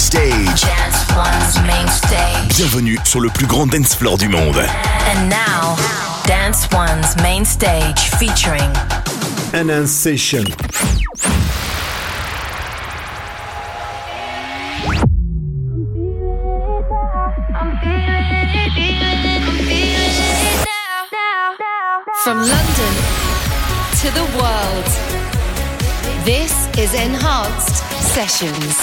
Stage. Dance One's Main Stage. Bienvenue sur le plus grand dance floor du monde. And now, Dance One's Main Stage featuring Enhanced Session. From London to the world, this is Enhanced Sessions.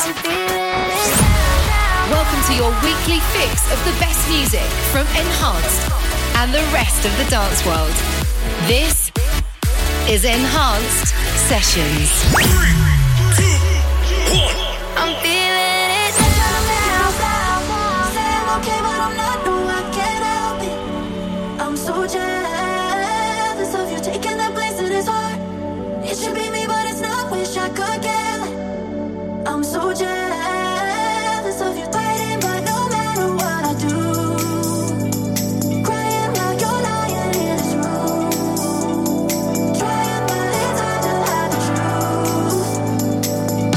Welcome to your weekly fix of the best music from Enhanced and the rest of the dance world. This is Enhanced Sessions. 3, 2, 1. I'm feeling it now. Say I'm okay, but I'm not. No, I can't help it. I'm so jealous of you taking that place in his heart. It should be me, but it's not. Wish I could get it. I'm so jealous of you fighting, but no matter what I do, crying while you're lying in this room, trying, but it's hard to hide the truth.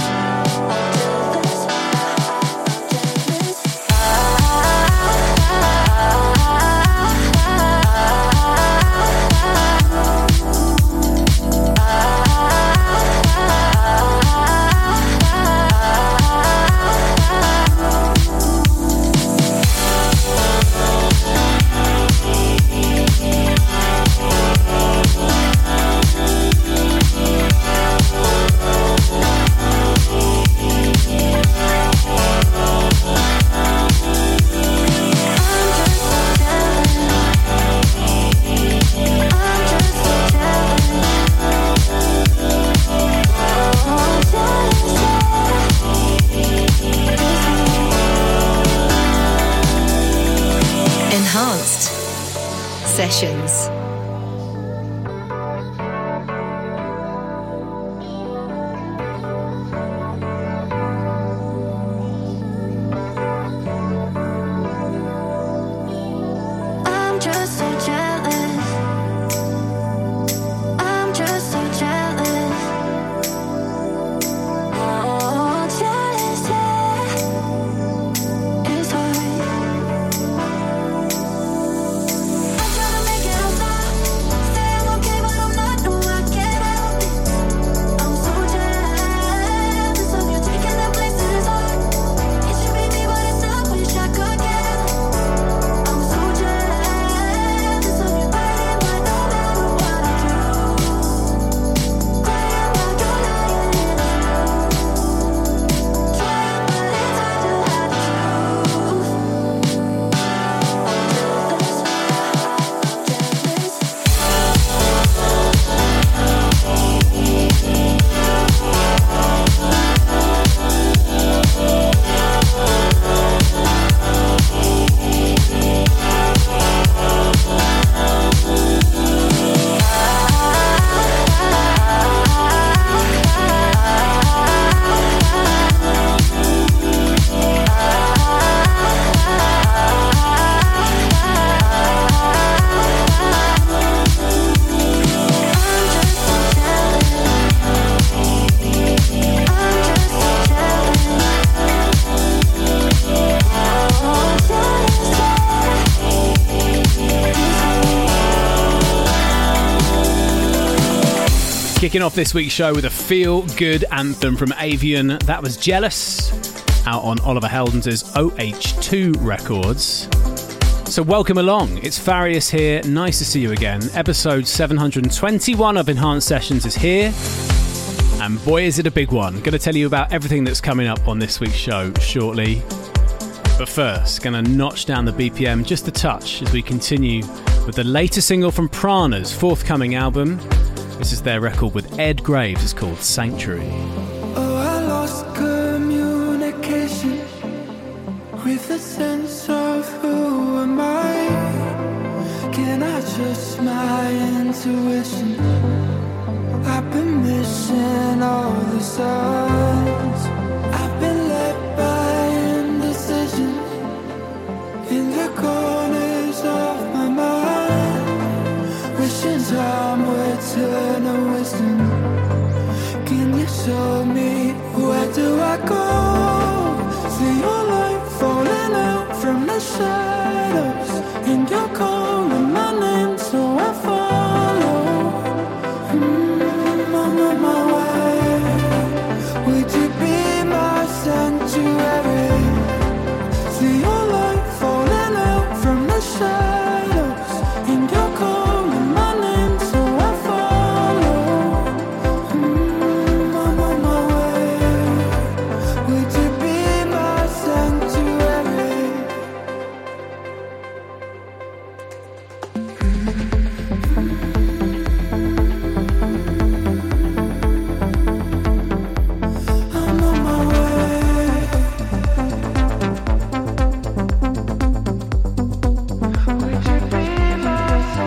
Enhanced Sessions. I'm just so jealous. I'm just so jealous. Oh, jealous, yeah. It's hard. I try to make it outside. Say I'm okay, but I'm not. No, I can't help it. I'm so jealous of you taking that place in his heart. It should be me, but it's not. Wish I could get it. I'm so jealous of you fighting, but no matter what I do, crying while you're lying in this room, trying, but it's hard to hide the truth. Kicking off this week's show with a feel-good anthem from Avian. That was Jealous, out on Oliver Heldens' OH2 Records. So welcome along. It's Farius here. Nice to see you again. Episode 721 of Enhanced Sessions is here. And boy, is it a big one. Going to tell you about everything that's coming up on this week's show shortly. But first, going to notch down the BPM just a touch as we continue with the latest single from Prana's forthcoming album. This is their record with Ed Graves. It's called Sanctuary. Oh, I lost communication with a sense of who am I. Can I trust my intuition? I've been missing all the signs. I've been led by indecision in the corners of my mind, wishing time would turn a wisdom. Can you show me where do I go? See shadows, and you're calling my name, so I follow. I'm on my way. Would you be my sanctuary? I'm on my way. Would you be my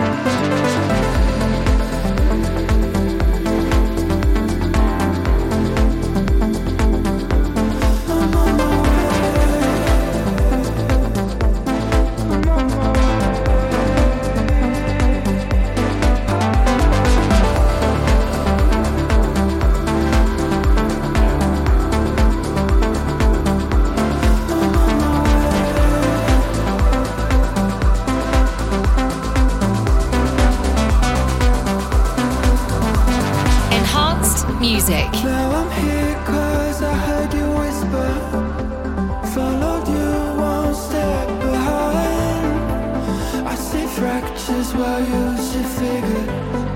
I'm on my Enhanced music. Now I'm here 'cause I heard you whisper. Followed you one step behind. I see fractures while you see figures.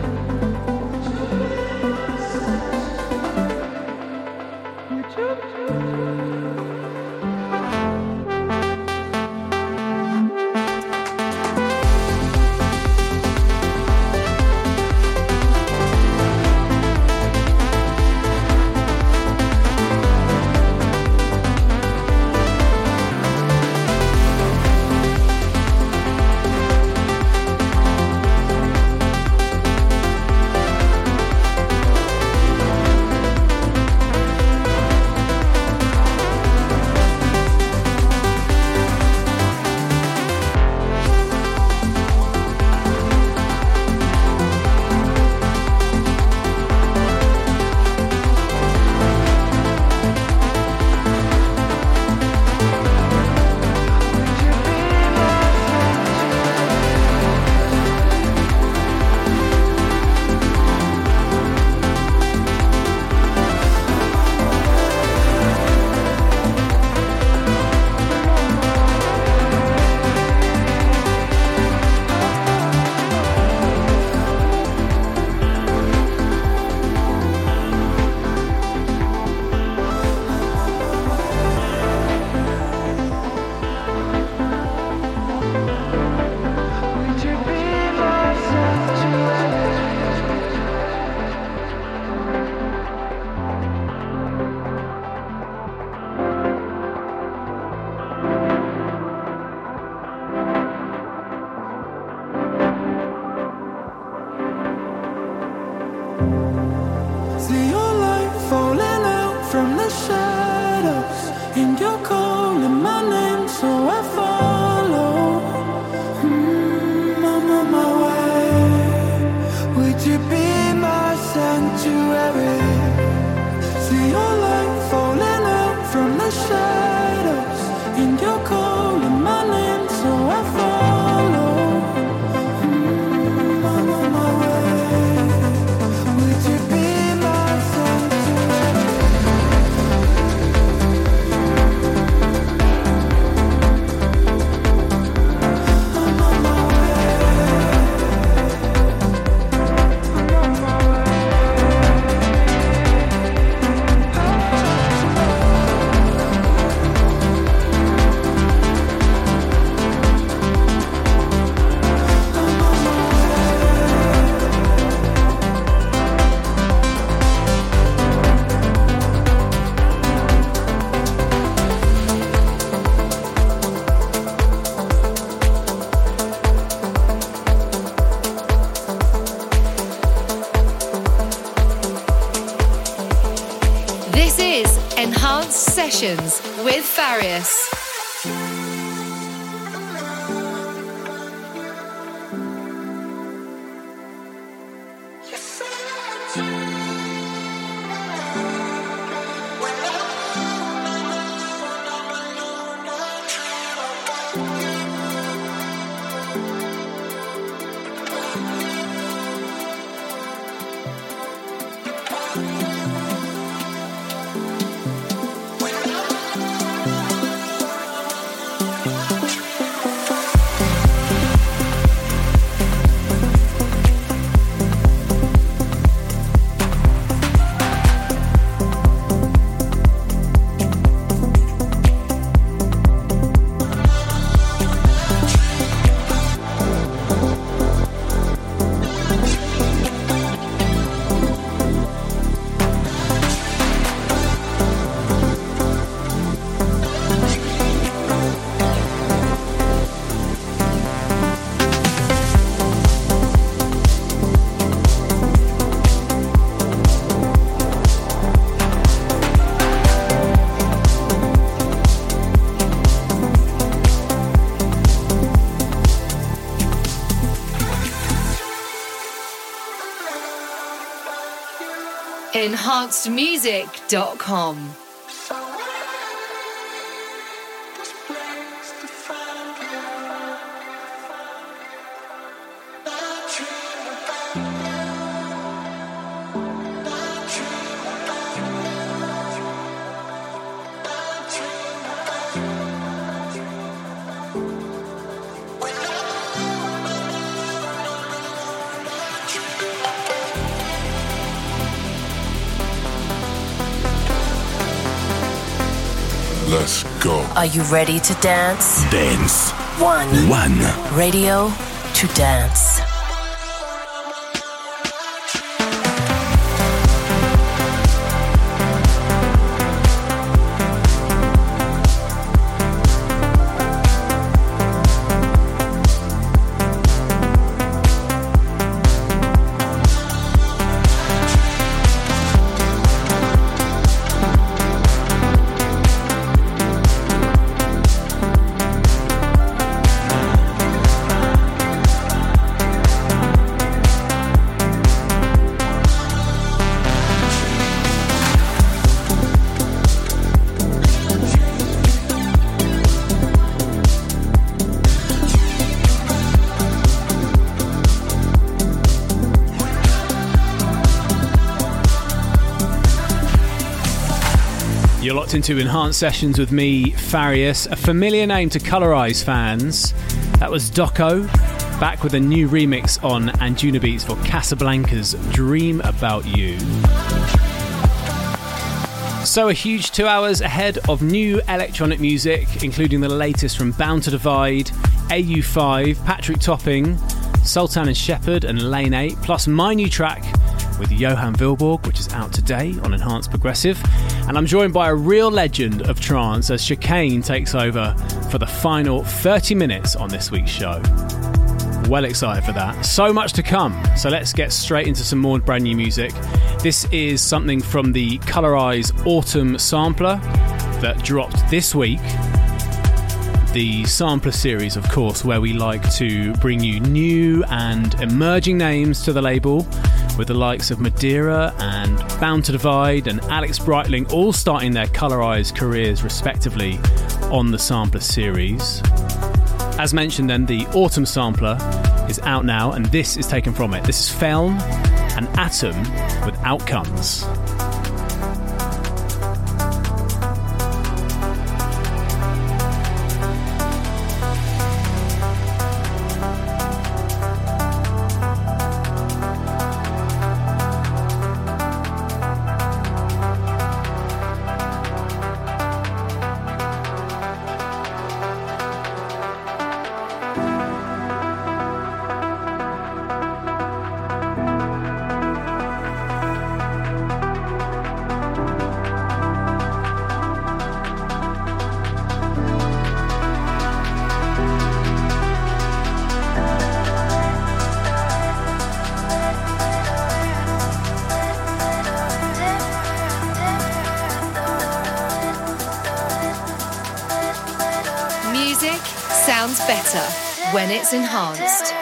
Would you be my sanctuary? See your light falling out from the shadows, and you're calling my name, so I follow. I'm on my way. Would you be my sanctuary? See your light falling out from the shadows, and you're calling my name, so I follow. I'm on my way. Would you be my sanctuary? I'm on my way. I'm on my way. This is Enhanced Sessions with Farius. enhancedmusic.com. Let's go. Are you ready to dance? Dance. One. Radio to dance. You're locked into Enhanced Sessions with me, Farius, a familiar name to Colorize fans. That was Doco, back with a new remix on Anjunabeats for Casablanca's Dream About You. So a huge 2 hours ahead of new electronic music, including the latest from Bound to Divide, AU5, Patrick Topping, Sultan and Shepherd and Lane 8, plus my new track with Johan Vilborg, which is out today on Enhanced Progressive. And I'm joined by a real legend of trance as Chicane takes over for the final 30 minutes on this week's show. Well excited for that. So much to come. So let's get straight into some more brand new music. This is something from the Colorize Autumn Sampler that dropped this week. The Sampler series, of course, where we like to bring you new and emerging names to the label, with the likes of Madeira and Bound to Divide and Alex Breitling all starting their Colorize careers respectively on the Sampler series. As mentioned then, the Autumn Sampler is out now and this is taken from it. This is Felm and Atom with Outcomes. Sounds better when it's enhanced.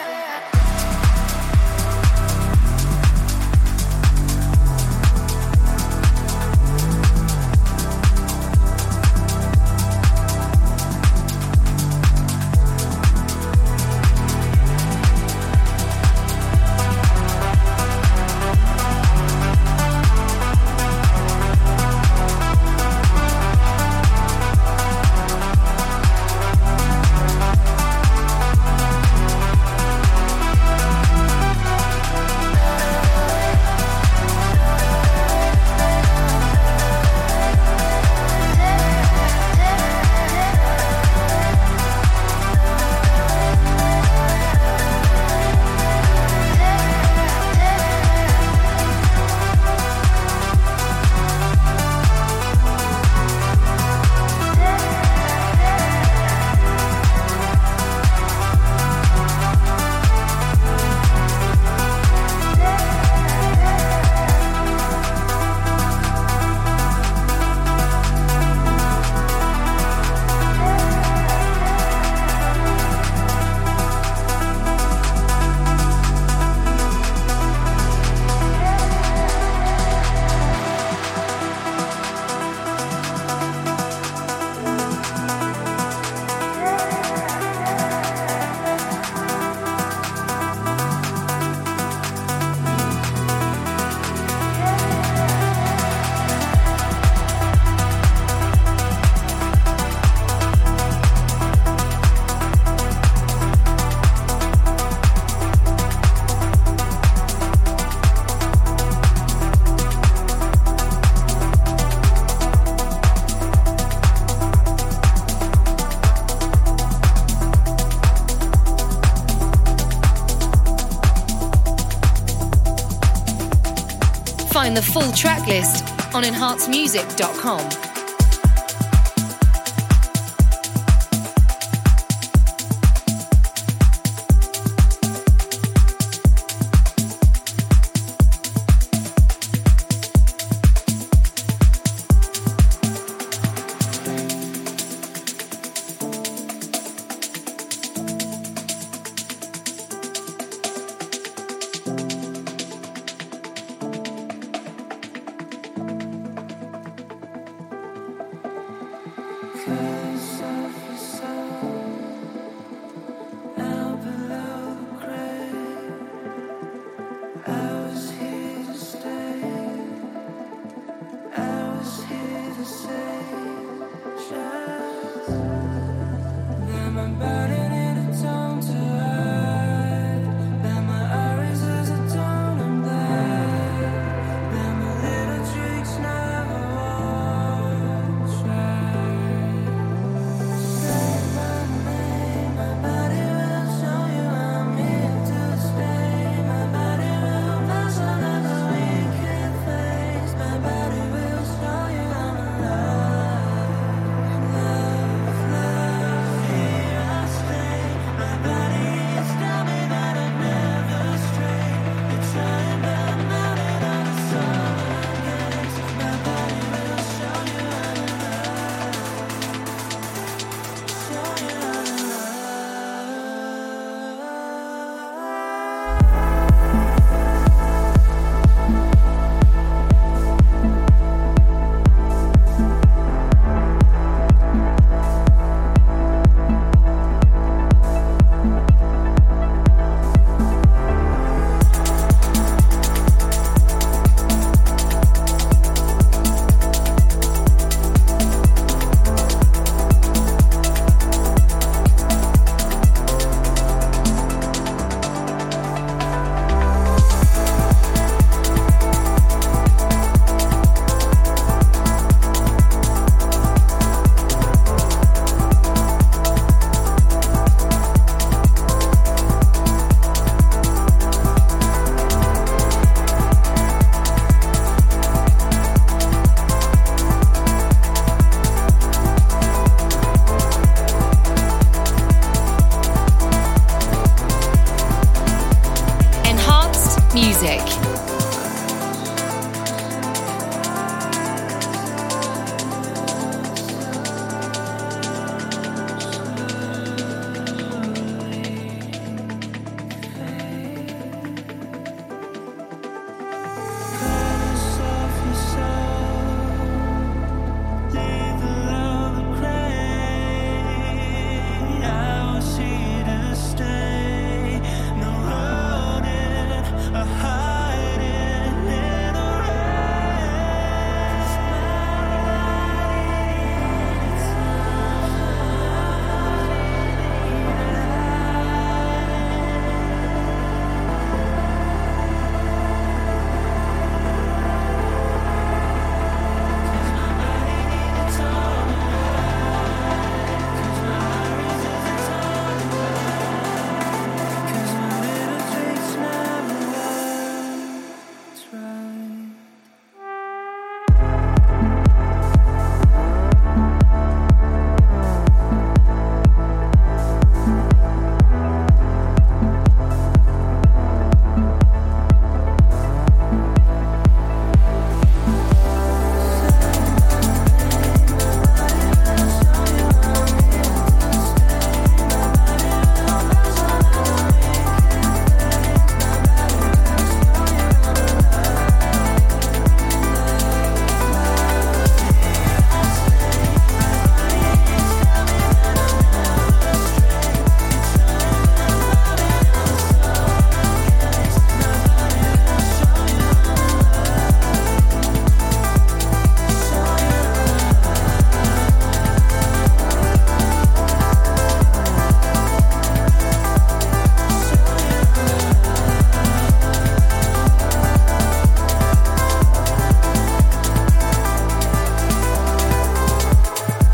find the full track list on enhancemusic.com.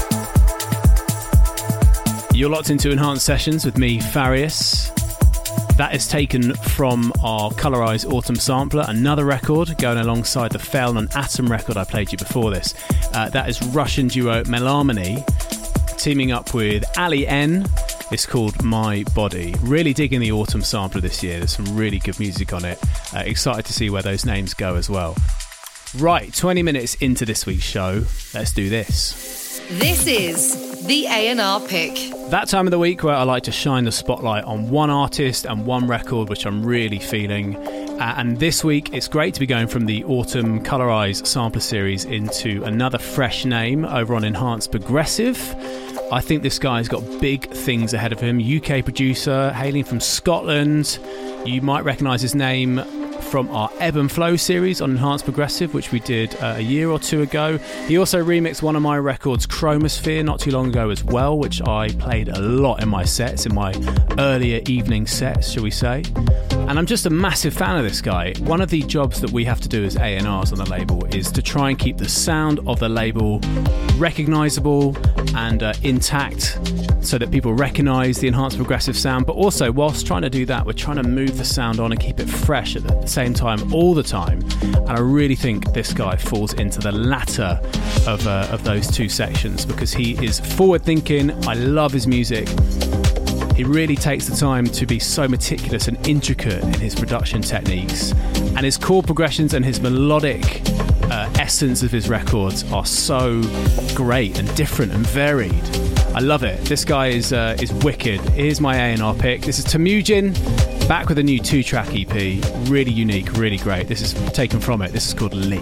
You're locked into Enhanced Sessions with me, Farius. That is taken from our Colorize Autumn Sampler, another record going alongside the Fell and Atom record I played you before this. That is Russian duo Melamony teaming up with Ali N. It's called My Body. Really digging the Autumn Sampler this year. There's some really good music on it. Excited to see where those names go as well. Right, 20 minutes into this week's show. Let's do this. This is the A&R Pick. That time of the week where I like to shine the spotlight on one artist and one record which I'm really feeling. And this week it's great to be going from the Autumn Colorize Sampler series into another fresh name over on Enhanced Progressive. I think this guy's got big things ahead of him. UK producer, hailing from Scotland. You might recognise his name from our Ebb and Flow series on Enhanced Progressive, which we did a year or two ago. He also remixed one of my records, Chromosphere, not too long ago as well, which I played a lot in my sets, in my earlier evening sets, shall we say. And I'm just a massive fan of this guy. One of the jobs that we have to do as A&Rs on the label is to try and keep the sound of the label recognisable and intact so that people recognise the Enhanced Progressive sound. But also, whilst trying to do that, we're trying to move the sound on and keep it fresh at the same time all the time. And I really think this guy falls into the latter of those two sections because he is forward-thinking. I love his music. He really takes the time to be so meticulous and intricate in his production techniques. And his chord progressions and his melodic essence of his records are so great and different and varied. I love it. This guy is wicked. Here's my A&R pick. This is Temujin, back with a new 2-track EP. Really unique, really great. This is taken from it. This is called Lee.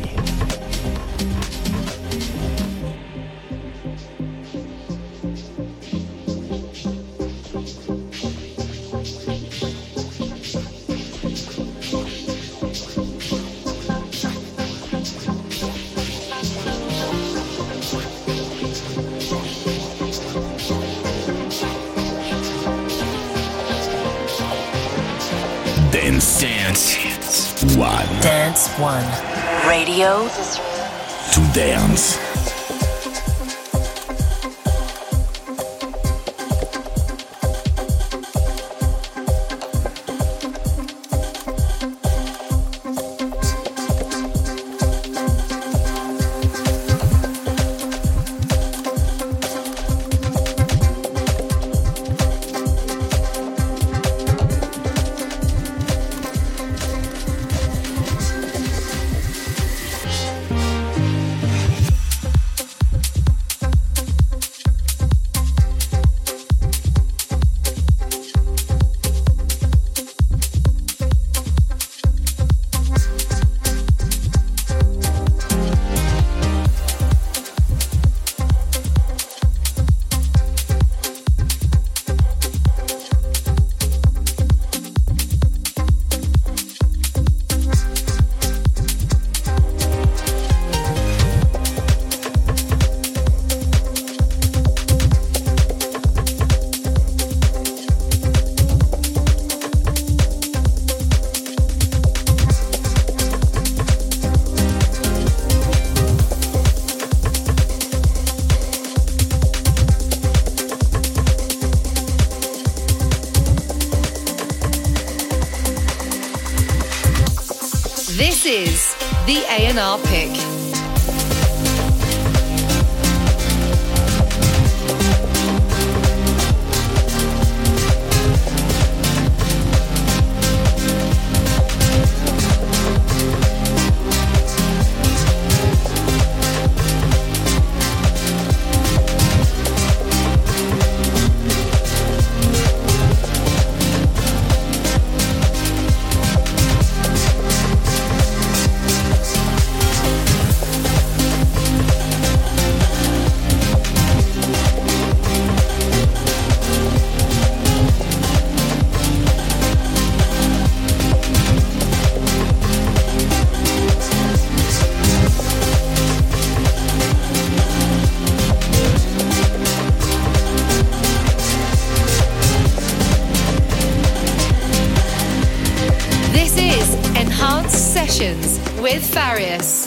Dance One. Dance One. Radio To dance. This is the A&R Pick. With Farius.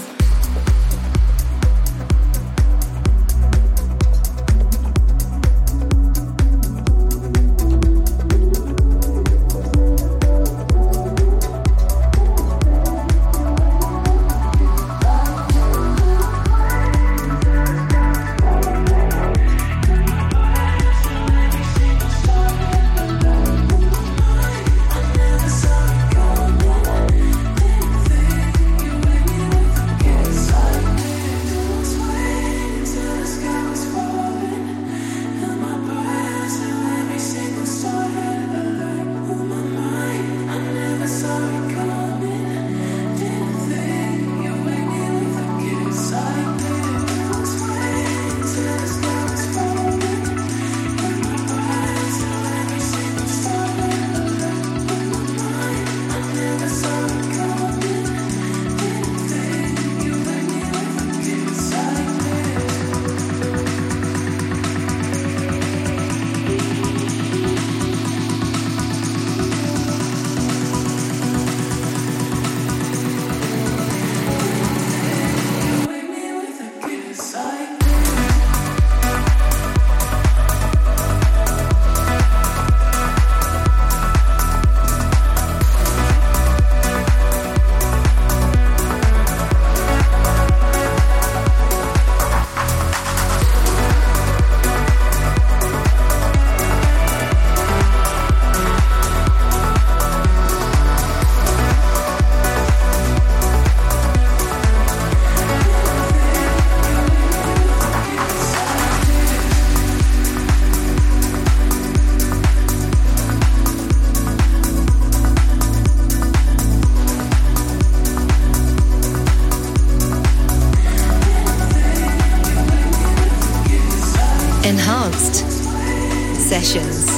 Enhanced Sessions.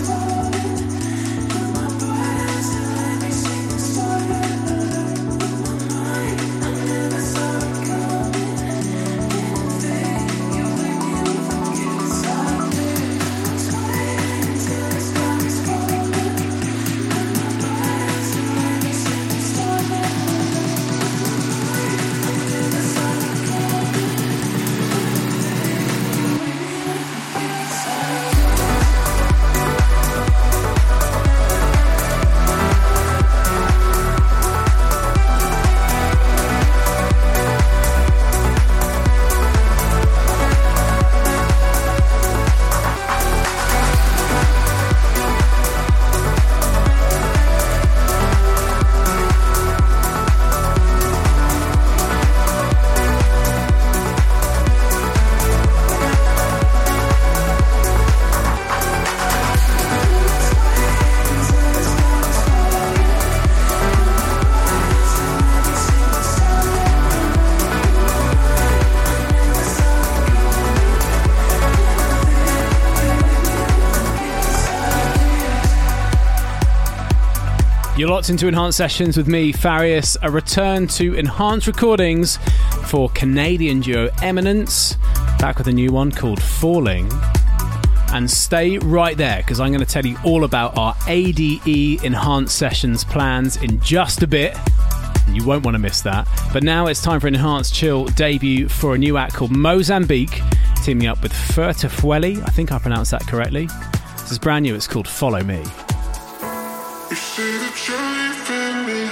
You're locked into Enhanced Sessions with me, Farius. A return to Enhanced recordings for Canadian duo Eminence, back with a new one called Falling. And stay right there, because I'm going to tell you all about our ADE Enhanced Sessions plans in just a bit. You won't want to miss that. But now it's time for an Enhanced Chill debut for a new act called Mozambique, teaming up with Furtafueli. I think I pronounced that correctly. This is brand new. It's called Follow Me. You say that you're leaving me.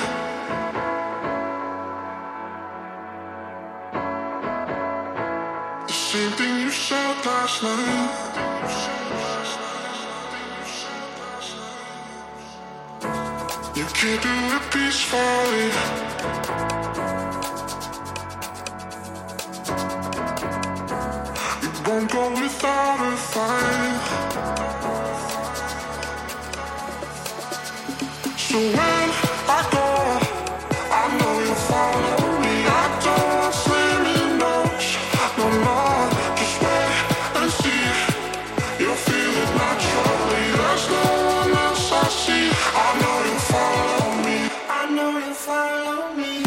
The same thing you said last night. You can't do it peacefully. You won't go without a fight. So when I go, I know you'll follow me. I don't send me notes, no more. Just wait and see. You'll feel it naturally. There's no one else I see. I know you'll follow me. I know you'll follow me.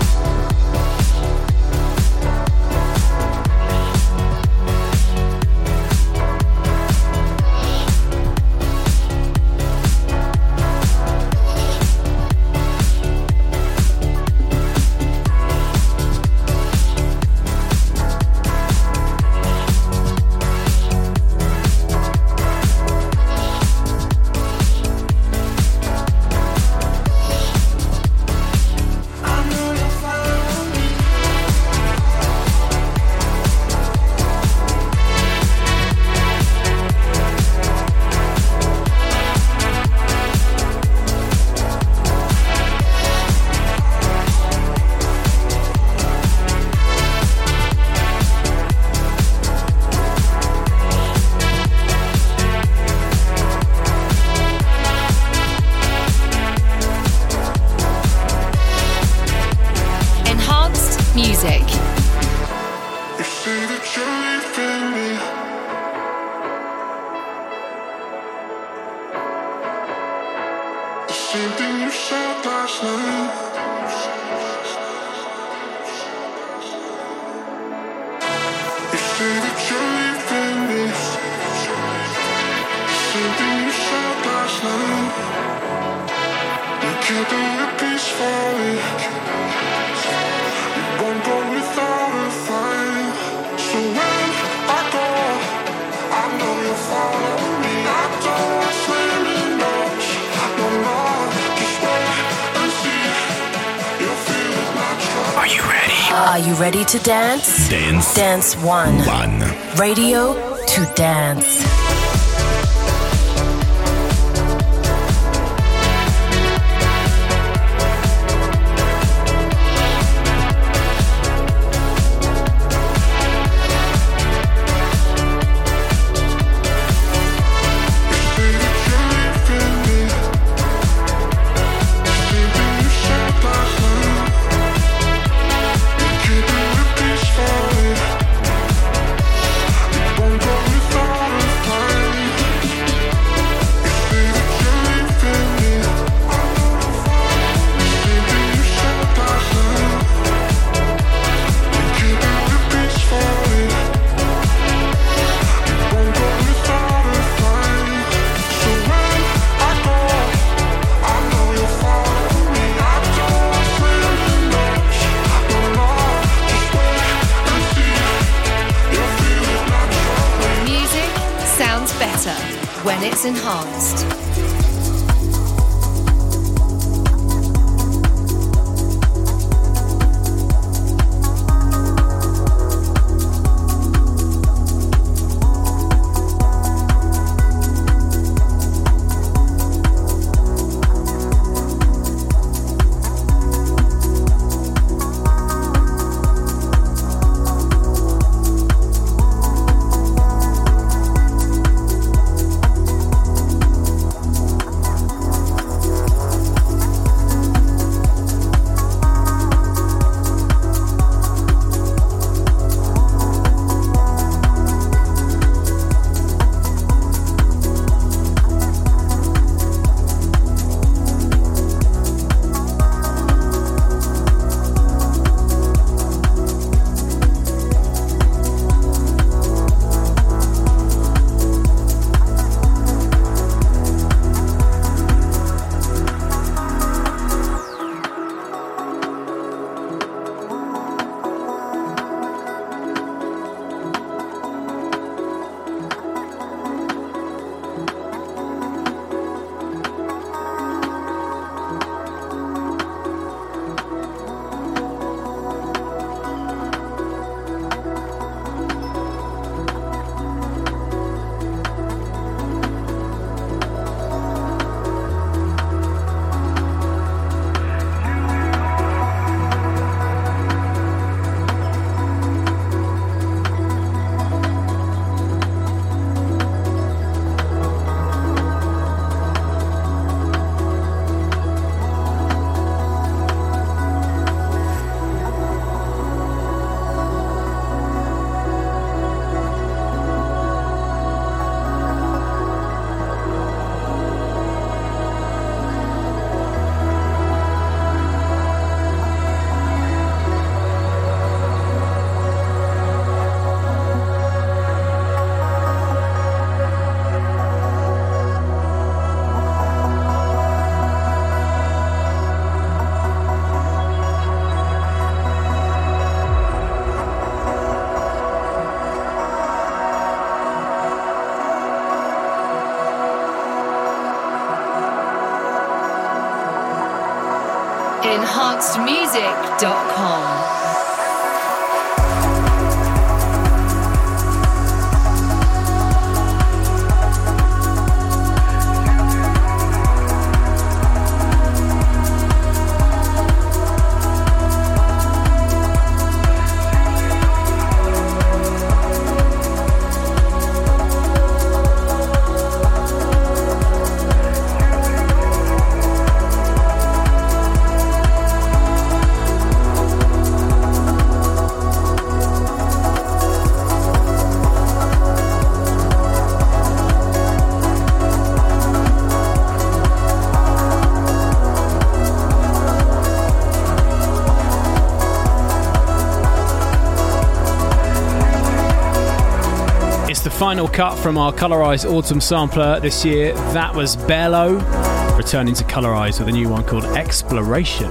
Music. You say that you're leaving me. The same thing you said last night. You say that you're leaving me. The same thing you said last night. You can't do it peacefully. Won't go without a fight. So when I go, I know you'll follow me. I don't send me notes, no more. Just wait and see. You'll feel it natural. Are you ready? Are you ready to dance? Dance. Dance One. Radio to dance. Won't go without sounds better when it's enhanced. enhancedmusic.com. Final cut from our Colorized Autumn sampler this year. That was Bello, returning to Colorized with a new one called Exploration.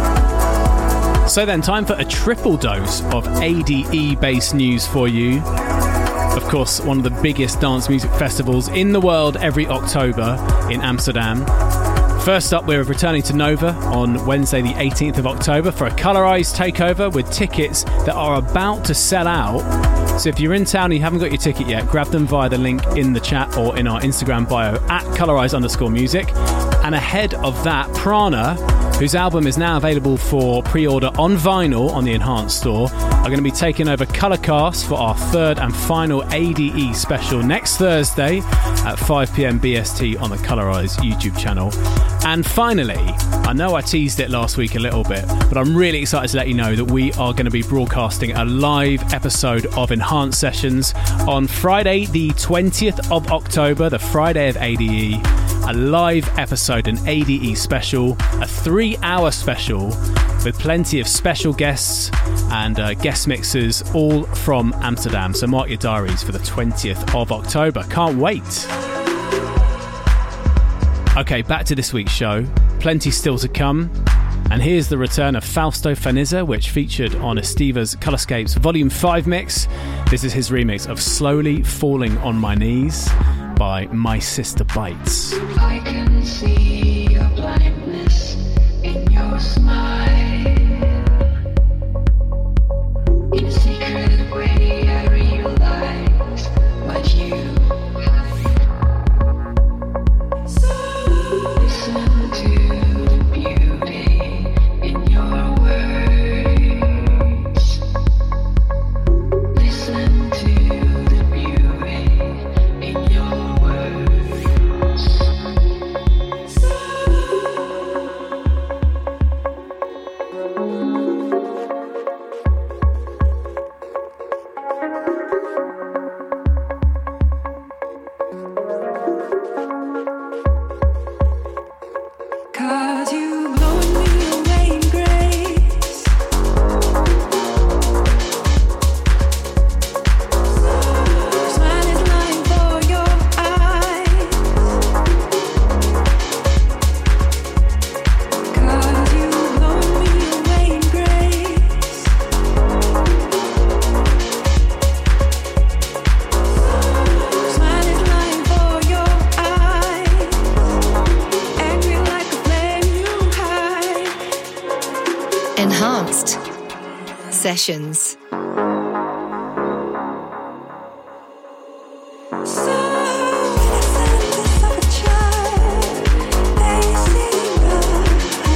So then, time for a triple dose of ADE-based news for you. Of course, one of the biggest dance music festivals in the world every October in Amsterdam. First up, we're returning to Nova on Wednesday the 18th of October for a Colorized takeover with tickets that are about to sell out. So if you're in town and you haven't got your ticket yet, grab them via the link in the chat or in our Instagram bio at Colorized_music. And ahead of that, Prana, whose album is now available for pre-order on vinyl on the Enhanced store, are going to be taking over Colorcast for our third and final ADE special next Thursday at 5 p.m. BST on the Colorized YouTube channel. And finally, I know I teased it last week a little bit, but I'm really excited to let you know that we are going to be broadcasting a live episode of Enhanced Sessions on Friday the 20th of October, the Friday of ADE. A live episode, an ADE special, a 3-hour special with plenty of special guests and guest mixers, all from Amsterdam. So mark your diaries for the 20th of October. Can't wait. Okay, back to this week's show. Plenty still to come. And here's the return of Fausto Faniza, which featured on Estiva's Colorscapes Volume 5 mix. This is his remix of Slowly Falling on My Knees by My Sister Bites. I can see your blindness in your smile. In a secret way I realize what you hide. Listen to the beauty in your words. Listen to the beauty in your words. Cause you blowing me away in grace. Smile is lying for your eyes. Cause you blowing me away in grace. Smile is lying for your eyes. Angry like a flame you hide. Enhanced Sessions. So innocent of a child, they see right.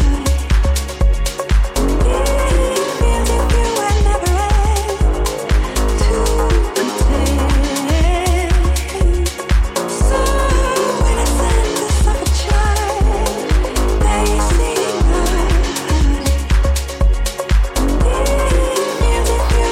It feels if you had never had to pretend. So innocent of a child, they see right. It feels if you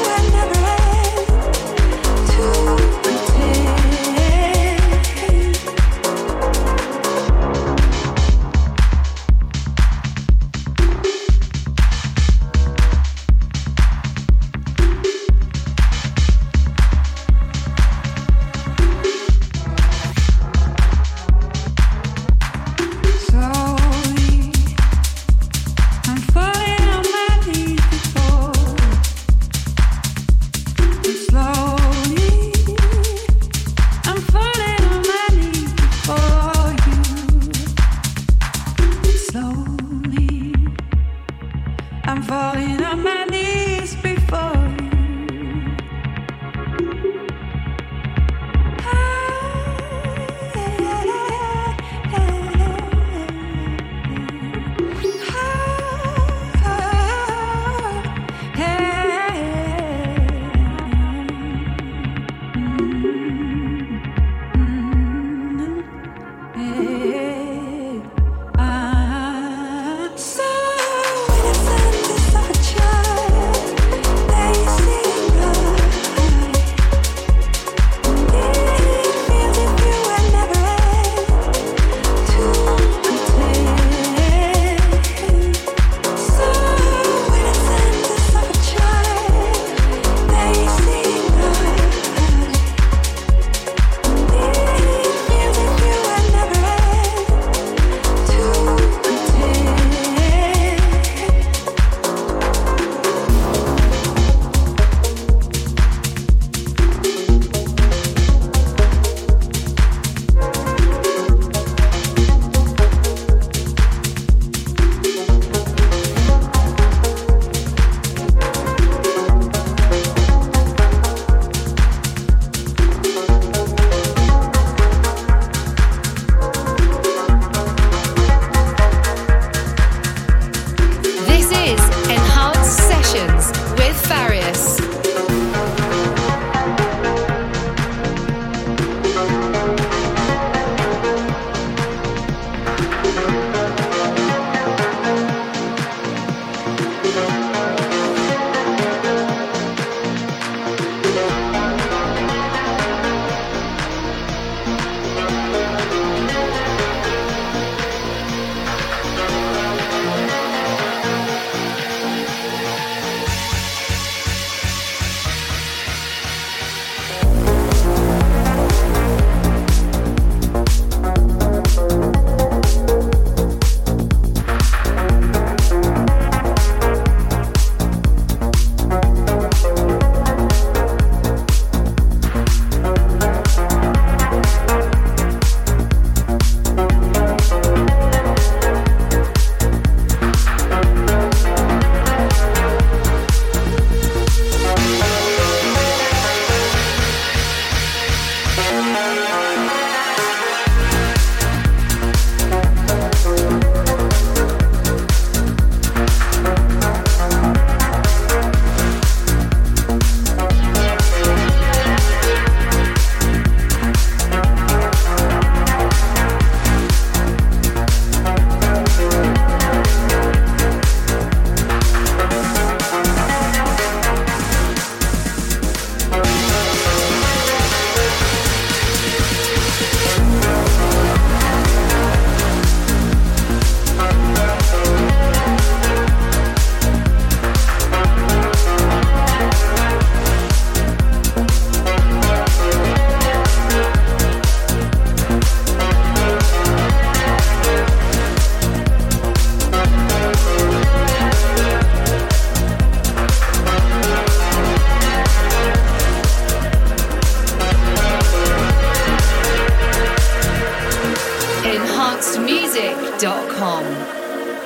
dance.com.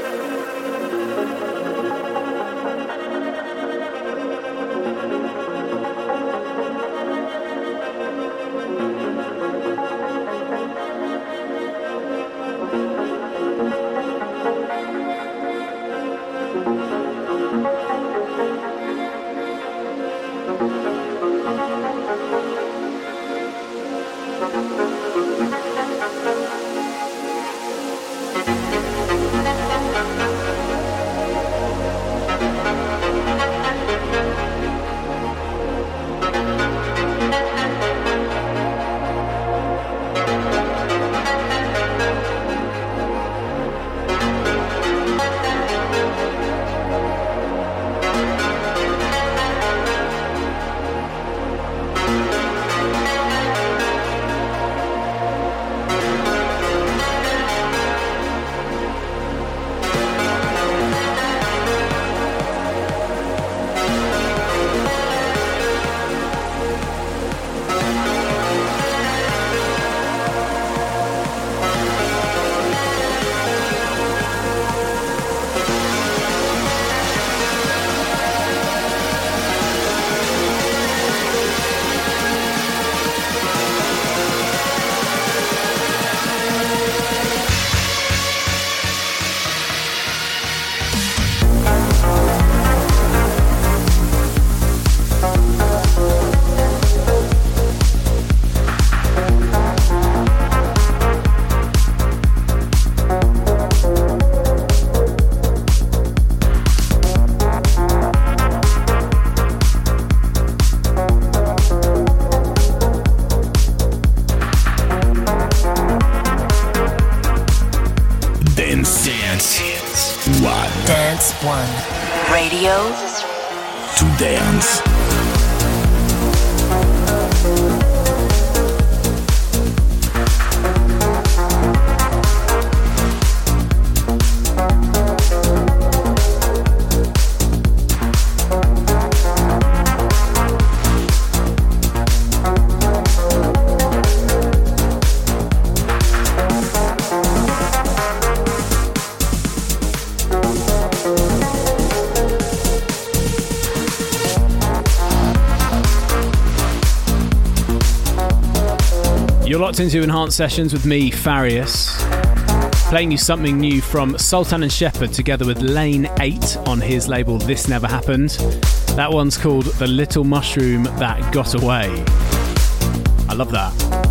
Dance One. Radio to dance. You're locked into Enhanced Sessions with me, Farius, playing you something new from Sultan and Shepherd together with Lane 8 on his label This Never Happened. That one's called The Little Mushroom That Got Away. I love that.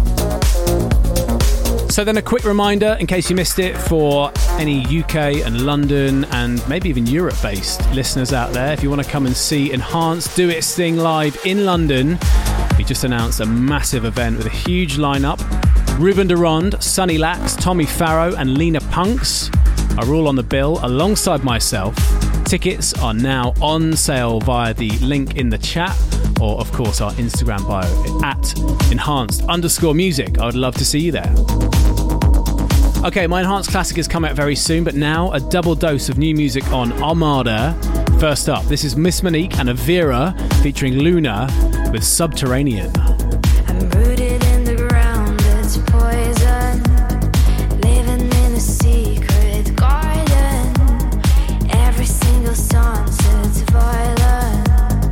So then a quick reminder, in case you missed it, for any UK and London and maybe even Europe-based listeners out there, if you want to come and see Enhanced do its thing live in London, we just announced a massive event with a huge lineup. Ruben Durand, Sonny Lax, Tommy Farrow and Lena Punks are all on the bill alongside myself. Tickets are now on sale via the link in the chat or, of course, our Instagram bio at enhanced_music. I would love to see you there. Okay, my Enhanced Classic is coming out very soon, but now a double dose of new music on Armada. First up, this is Miss Monique and Avira featuring Luna with Subterranean. I'm rooted in the ground, it's poison. Living in a secret garden. Every single sunset's violent.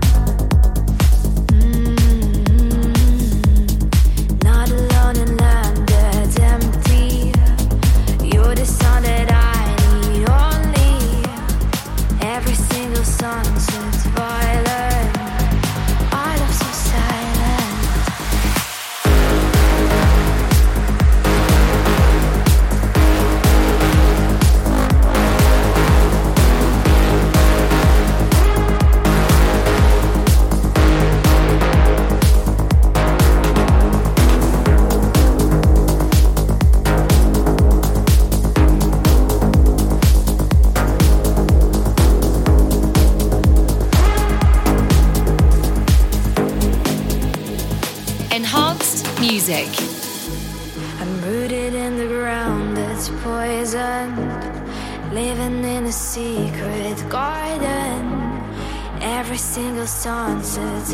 Not alone in land that's empty. You're the sun that I need only. Every single sunset's violent. I love so silent. Enhanced music. I'm rooted in the ground that's poisoned. Living in a secret garden. Every single sunset's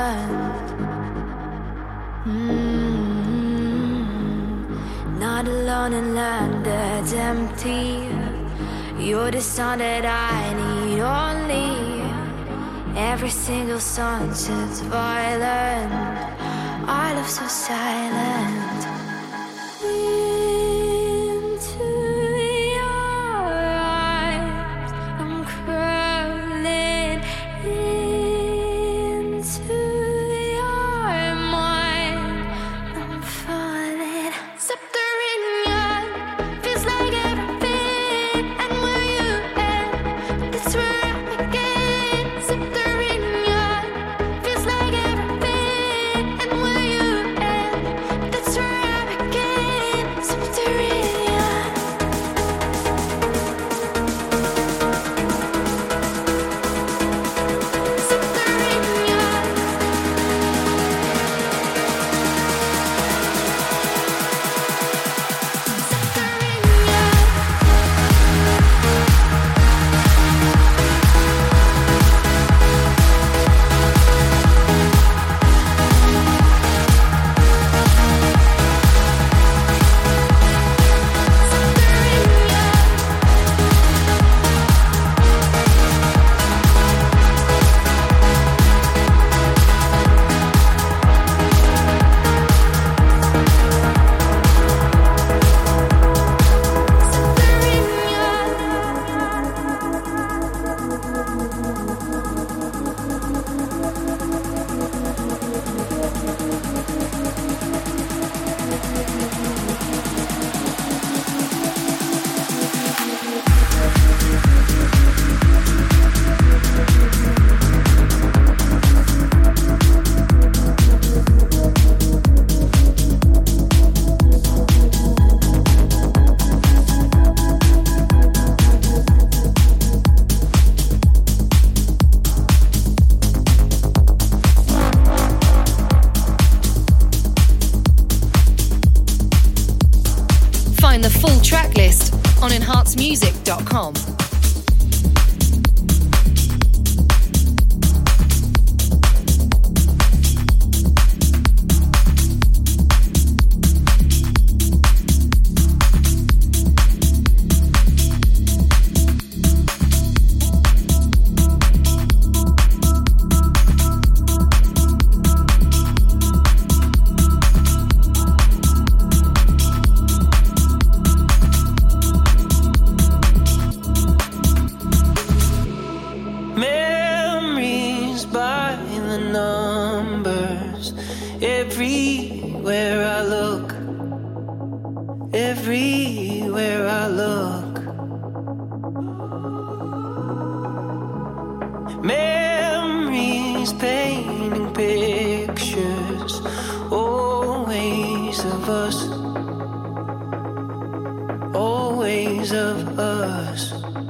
violent. Not alone. alone in land that's empty. You're the sound that I need only. Every single sunset's violent. Our love so silent. Into your eyes, I'm crawling into your mind. I'm falling. Subterranean feels like everything, and where you end, that's where I begin. Subterranean feels like everything, and where you end, that's where I begin. Subterranean. Find the full track list on enhancemusic.com. Memories by the numbers. Everywhere I look, everywhere I look. Memories painting pictures, always of us, always of us.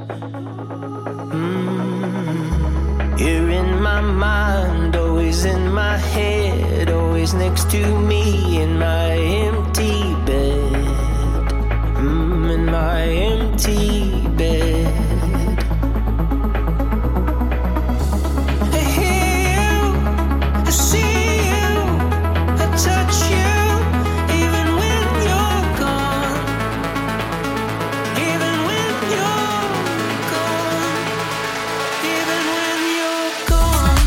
You're in my mind, always in my head, always next to me in my empty bed, in my empty bed. I hear you, I see you, I touch you, even when you're gone, even when you're gone, even when you're gone.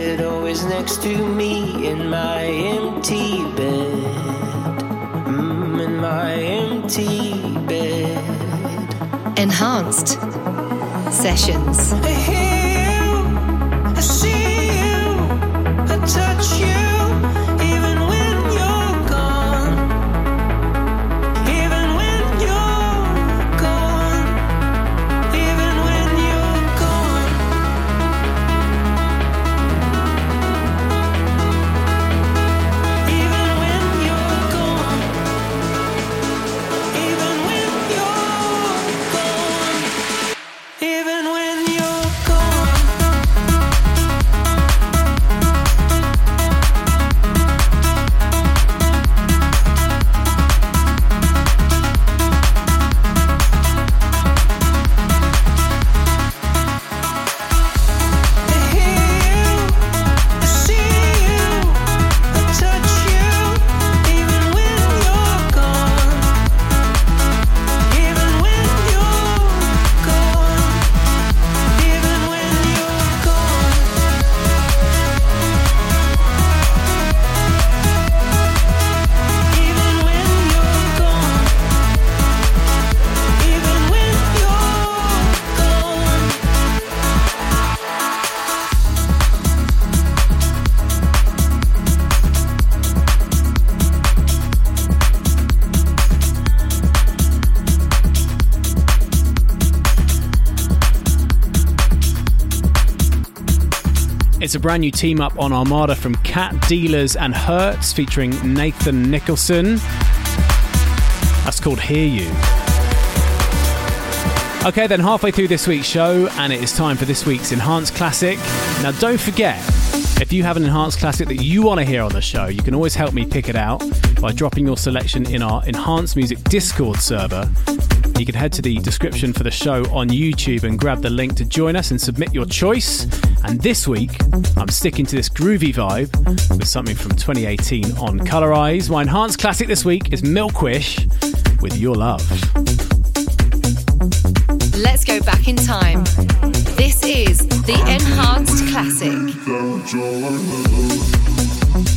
head, always next to me in my empty bed. In my empty bed. Enhanced Sessions. I hear you, I see you, I touch you. It's a brand new team up on Armada from Cat Dealers and Hertz featuring Nathan Nicholson. That's called Hear You. Okay, then halfway through this week's show, and it is time for this week's Enhanced Classic. Now, don't forget, if you have an Enhanced Classic that you want to hear on the show, you can always help me pick it out by dropping your selection in our Enhanced Music Discord server. You can head to the description for the show on YouTube and grab the link to join us and submit your choice. And this week, I'm sticking to this groovy vibe with something from 2018 on Colorize. My Enhanced Classic this week is Milkwish with Your Love. Let's go back in time. This is the Enhanced Classic.